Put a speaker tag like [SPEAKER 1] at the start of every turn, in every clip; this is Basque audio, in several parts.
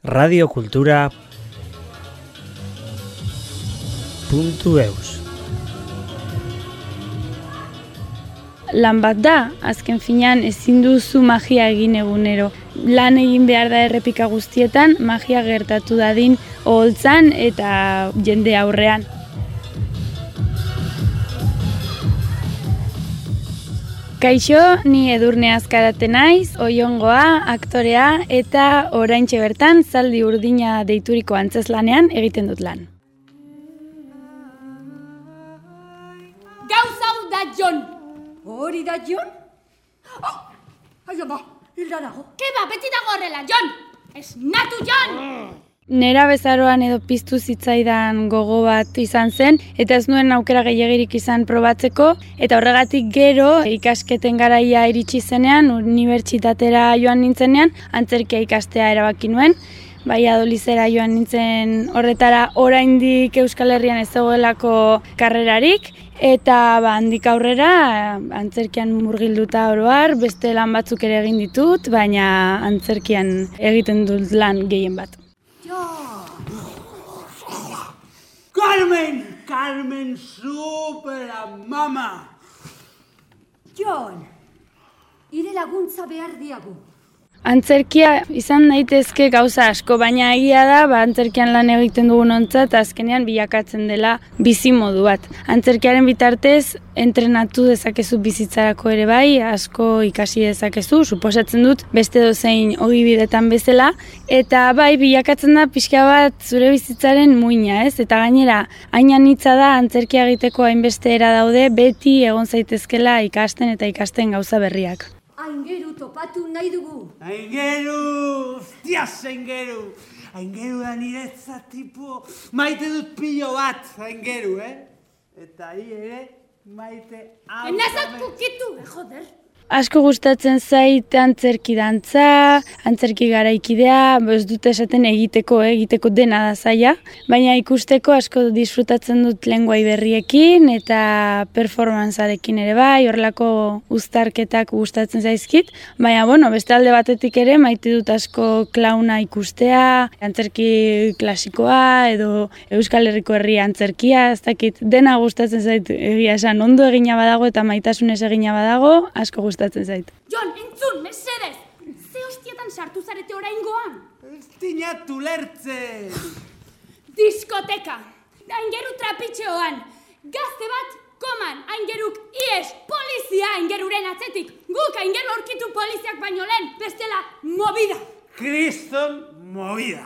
[SPEAKER 1] radiokultura.eus.
[SPEAKER 2] Lan bat da, azken finean ezin duzu magia egin egunero. Lan egin behar da errepika guztietan, magia gertatu dadin oholtzan eta jende aurrean. Kaixo, ni Edurne Azkarate naiz, Oiongoa, aktorea eta oraintxe bertan zaldi urdina deituriko antzezlanean egiten dut lan.
[SPEAKER 3] Gauza hau da Jon!
[SPEAKER 4] Hori da Jon? Ai ama, hilda dago.
[SPEAKER 3] Keba, beti dago horrela, Jon! Esnatu, Jon!
[SPEAKER 2] Nera bezaroan edo piztu zitzaidan gogo bat izan zen, eta ez nuen aukera gehiagirik izan probatzeko, eta horregatik gero ikasketen garaia iritsi zenean, unibertsitatera joan nintzenean, antzerkia ikastea erabaki nuen. Valladolidera joan nintzen horretara oraindik Euskal Herrian ez zegoelako karrerarik, eta handik aurrera antzerkian murgilduta oro har, beste lan batzuk ere egin ditut, baina antzerkian egiten dut lan gehien bat.
[SPEAKER 5] Carmen, supera, mama!
[SPEAKER 4] Jon, hire laguntza behar diagu.
[SPEAKER 2] Antzerkia izan daitezke gauza asko, baina egia da, antzerkian lan egiten dugun ontzat, azkenean bilakatzen dela bizimodu bat. Antzerkiaren bitartez, entrenatu dezakezu bizitzarako ere bai, asko ikasi dezakezu, suposatzen dut beste dozein ogibidetan bezala, eta bai bilakatzen da pixka bat zure bizitzaren muina, ez? Eta gainera, hain anitza da antzerkia egiteko hainbeste era daude, beti egon zaitezkela ikasten eta ikasten gauza berriak.
[SPEAKER 4] Aingeru topatu nahi dugu.
[SPEAKER 5] Aingeru, hostias Aingeru. Aingeru da niretzat tipo, maite dut pilo bat, Aingeru, Eta hi ere, maite hau.
[SPEAKER 3] Enazak pukitu, joder.
[SPEAKER 2] Asko gustatzen zait antzerki dantza, antzerki garaikidea, ez dut esaten egiteko dena da zaila, baina ikusteko asko disfrutatzen dut lenguai berriekin eta performancearekin ere bai, horrelako uztarketak gustatzen zaizkit, baina beste alde batetik ere maite dut asko klauna ikustea, antzerki klasikoa edo Euskal Herriko herri antzerkia, ez dakit dena gustatzen zait egia esan, ondo egina badago eta maitasunez egina badago, asko gustatzen zait.
[SPEAKER 3] Jon, entzun, mesedez! Ze hostietan sartu zarete oraingoan?
[SPEAKER 5] Ez dinatu lertzen!
[SPEAKER 3] Diskoteka! Aingeru trapitxeoan! Gazte bat, koman! Aingeruk ies! Polizia aingeruren atzetik! Guk aingeru aurkitu poliziak baino lehen! Bestela, movida!
[SPEAKER 5] Kriston movida!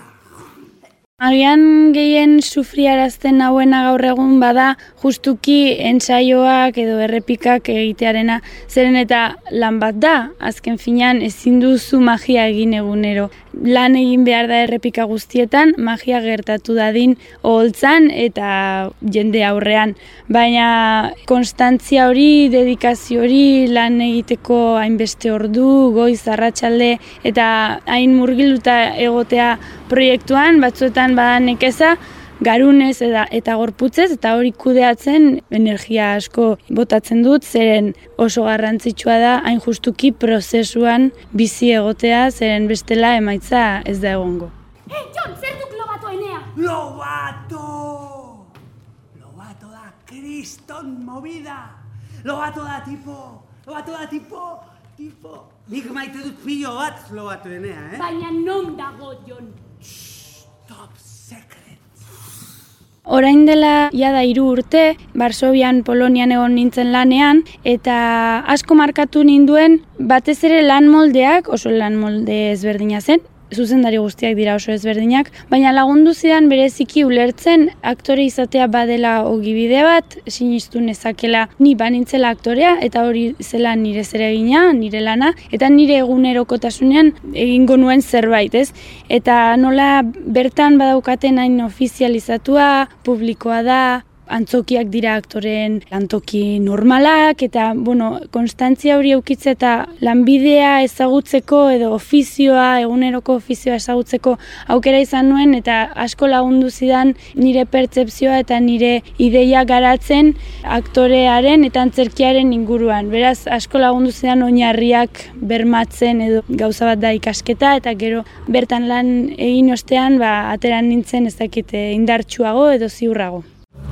[SPEAKER 2] Agian gehien sufriarazten hauena gaur egun bada justuki entsaioak edo errepikak egitearena, zeren eta lan bat da, azken finean ezin duzu magia egin egunero. Lan egin behar da errepika guztietan, magia gertatu dadin oholtzan eta jende aurrean. Baina konstantzia hori, dedikazio hori, lan egiteko hainbeste ordu, goiz, arratsalde eta hain murgilduta egotea proiektuan, batzuetan bada nekeza, garunez eta gorputzez, eta hori kudeatzen energia asko botatzen dut, zeren oso garrantzitsua da hain justuki prozesuan bizi egotea, zeren bestela emaitza ez da egongo.
[SPEAKER 3] Jon, zer duk Lobato enea?
[SPEAKER 5] Lobato! Lobato da kriston movida! Lobato da tipo... Nik maite dut pilo bat Lobato enea,
[SPEAKER 3] Baina non dago, Jon?
[SPEAKER 5] Top secret.
[SPEAKER 2] Orain dela jada 3 urte, Varsovian, Polonian egon nintzen lanean, eta asko markatu ninduen batez ere lan moldeak, oso lan molde ezberdina zen, zuzendari guztiak dira oso ezberdinak, baina lagundu zidan bereziki ulertzen aktore izatea badela ogibide bat, sinistu nezakela ni banintzela aktorea, eta hori zela nire zeregina, nire lana, eta nire egunerokotasunean egingo nuen zerbait, ez? Eta nola bertan badaukaten hain ofizializatua, publikoa da, Antzokiak dira aktoreen lantoki normalak, eta, konstantzia hori eukitze eta lanbidea ezagutzeko edo ofizioa, eguneroko ofizioa ezagutzeko aukera izan nuen, eta asko lagundu zidan nire pertzepzioa eta nire ideia garatzen aktorearen eta antzerkiaren inguruan. Beraz, asko lagundu zidan oinarriak bermatzen edo gauza bat da ikasketa, eta gero bertan lan egin ostean, ateran nintzen ez dakit indartsuago edo ziurrago.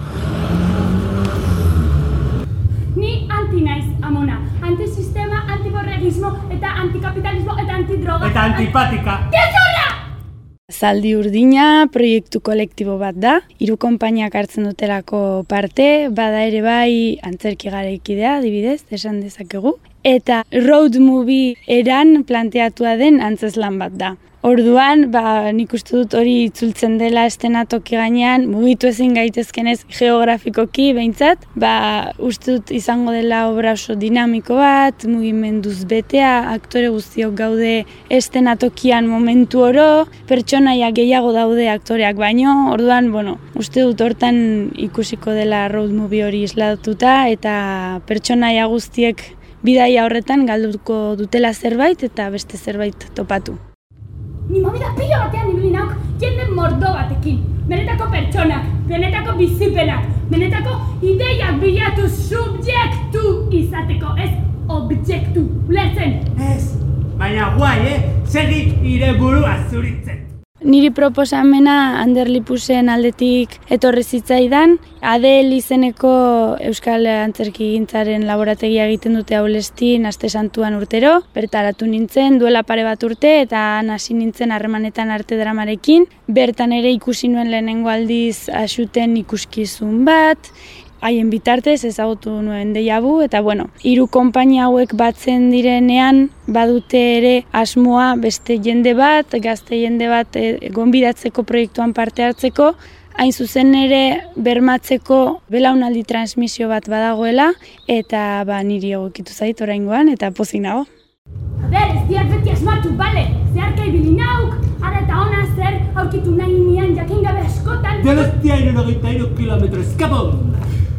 [SPEAKER 3] Ni anti naiz, Amona. Antisistema, antiborregismo eta antikapitalismo eta antidroga.
[SPEAKER 5] Eta antipatika.
[SPEAKER 3] Gezurra!
[SPEAKER 2] Zaldi Urdina proiektu kolektibo bat da, 3 konpainiak hartzen dutelako parte, bada ere bai antzerki garaikidea, adibidez, esan dezakegu. Eta road movie eran planteatua den antzeslan bat da. Orduan, nik uste dut hori itzultzen dela estenatoki gainean, mugitu ezin gaitezkenez geografikoki behintzat, uste dut izango dela obra oso dinamiko bat, mugimenduz betea, aktore guztiok gaude estenatokian momentu oro, pertsonaia gehiago daude aktoreak baino, orduan, uste dut hortan ikusiko dela road movie hori islatuta, eta pertsonaia guztiek bidaia horretan galduko dutela zerbait eta beste zerbait topatu.
[SPEAKER 3] Ni movida pilo batean ibili nauk jende mordo batekin. Benetako pertsonak, benetako bizipenak, benetako ideiak bilatu subjektu izateko, ez objektu. Ulertzen?
[SPEAKER 5] Ez, baina guai, segik ire burua zuritzen.
[SPEAKER 2] Niri proposamena Ander Lipusen aldetik etorri zitzaidan, Adel izeneko Euskal Antzerkigintzaren laborategia egiten dute Aulestin aste santuan urtero, bertaratu nintzen duela pare bat urte eta hasi nintzen harremanetan arte dramarekin, bertan ere ikusi nuen lehenengo aldiz Axuten ikuskizun bat, haien bitartez ezagutu nuen deiabu, eta 3 konpainia hauek batzen direnean badute ere asmoa beste jende bat, gazte jende bat gonbidatzeko proiektuan parte hartzeko, hain zuzen ere bermatzeko belaunaldi transmisio bat badagoela, eta niri egokitu zait oraingoan, eta pozik nago.
[SPEAKER 3] Ez diat beti asmatu, bale? Zeharka ibili nauk, ara eta ona zer aurkitu nahi nian jakin gabe askotan.
[SPEAKER 5] Donostia 73 kilometro, eskapon!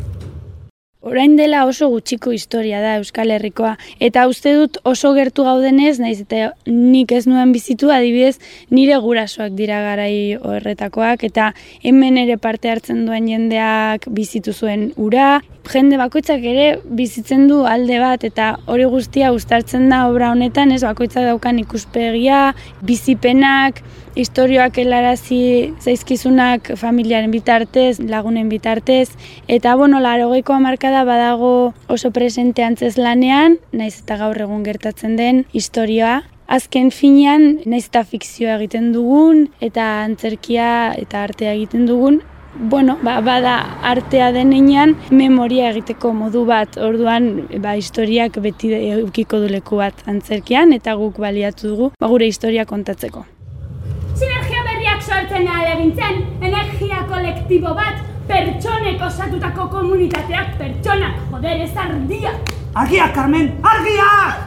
[SPEAKER 2] Orain dela oso gutxiko historia da Euskal Herrikoa, eta uste dut oso gertu gaudenez, naiz eta nik ez nuen bizitu, adibidez nire gurasoak dira garai horretakoak, eta hemen ere parte hartzen duen jendeak bizitu zuen ura, jende bakoitzak ere bizitzen du alde bat, eta hori guztia uztartzen da obra honetan, ez bakoitzak daukan ikuspegia, bizipenak, istorioak helarazi zaizkizunak familiaren bitartez, lagunen bitartez, eta 80ko hamarkada badago oso presente antzeslanean, naiz eta gaur egun gertatzen den istorioa. Azken finean, naiz eta fikzioa egiten dugun, eta antzerkia eta artea egiten dugun, bada artea denean memoria egiteko modu bat, orduan historiak beti edukiko du leku bat antzerkian, eta guk baliatu dugu gure historia kontatzeko.
[SPEAKER 3] Sinergia berriak sortzen ahalegintzen, energia kolektibo bat, pertsonek osatutako komunitateak, pertsonak, joder, ez ardiak!
[SPEAKER 5] Argiak, Carmen, argiak!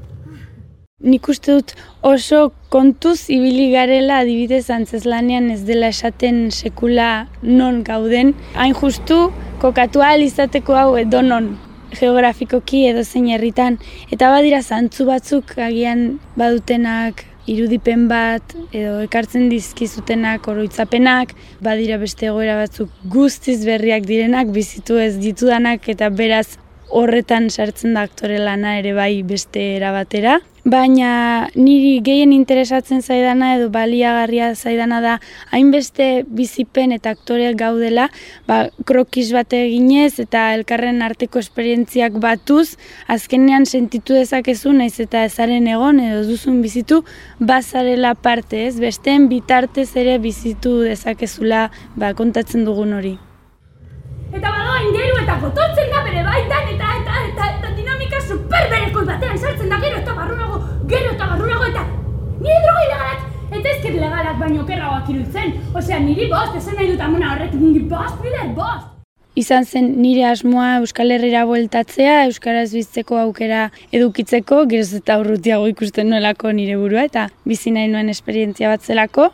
[SPEAKER 2] Nik uste dut oso kontuz ibili garela adibidez antzeslanean ez dela esaten sekula non gauden. Hain justu, kokatu ahal izateko hau edonon geografikoki edo zein herritan. Eta badira zantzu batzuk agian badutenak irudipen bat edo ekartzen dizkizutenak oroitzapenak, badira beste egoera batzuk guztiz berriak direnak, bizitu ez ditudanak eta beraz horretan sartzen da aktore lana ere bai beste erabatera. Baina niri gehien interesatzen zaidana edo baliagarria zaidana da hainbeste bizipen eta aktoreak gaudela, krokis bat eginez eta elkarren arteko esperientziak batuz, azkenean sentitu dezakezu naiz eta ezaren egon edo duzun bizitu, bazarela parte ez, besteen bitartez ere bizitu dezakezula kontatzen dugun hori.
[SPEAKER 3] Eta badoa ingeru eta gotortzen da bere baitan eta dinamika superberekoi batean sartzen da gero eta barrunago eta nire droga ilegalak eta ezker legalak baino kerragoak iruditzen. Osea, niri bost, esan nahi dut amona horretik, niri bost.
[SPEAKER 2] Izan zen nire asmoa Euskal Herrira bueltatzea, euskaraz bizitzeko aukera edukitzeko, geroz eta urrutiago ikusten nuelako nire burua eta bizi nahi nuen esperientzia bat zelako.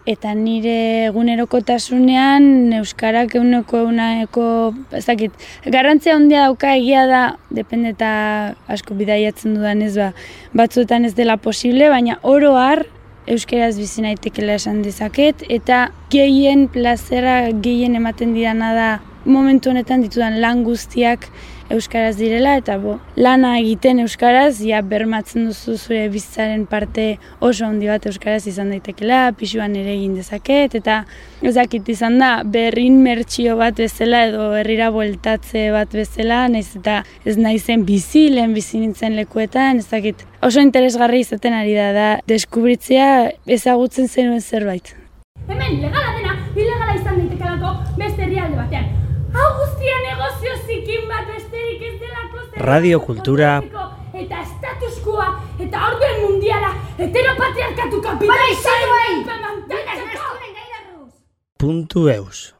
[SPEAKER 2] eta nire egunerokotasunean euskarak euneko ez dakit, garrantzia handia dauka, egia da, depende eta asko bidaiatzen dudan ez batzuetan ez dela posible, baina oro har euskaraz bizi naitekela esan dezaket, eta gehien plazera gehien ematen didana da momentu honetan ditudan lan guztiak euskaraz direla, eta lana egiten euskaraz, bermatzen duzu zure bizitzaren parte oso handi bat euskaraz izan daitekela, pisuan ere egin dezaket, eta ezakit izan da berrin mertsio bat bezala edo herrira bueltatze bat bezala, nahiz eta ez naizen lehen bizi nintzen lekuetan, ezakit oso interesgarri izaten ari da deskubritzea ezagutzen zenuen zerbait.
[SPEAKER 3] Hemen legala dena, ilegala izan daitekelako beste herrialde batean. Hau guztia negozio zikin bat besterik ez delako
[SPEAKER 1] Radio Kultura
[SPEAKER 3] eta estatuskoa eta orden mundiala heteropatriarkatu kapitalismoa
[SPEAKER 1] .eus